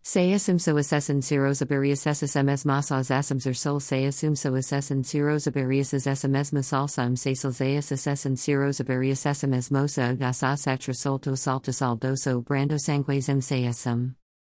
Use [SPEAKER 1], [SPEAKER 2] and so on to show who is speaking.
[SPEAKER 1] Sayasum so assessin serosabarius sms masas asums sol sayasum so assessin serosabarius sms masalsum sasal zayas assessin serosabarius sms mosa gasa satra solto salta saldoso brando sanguesum sayasum.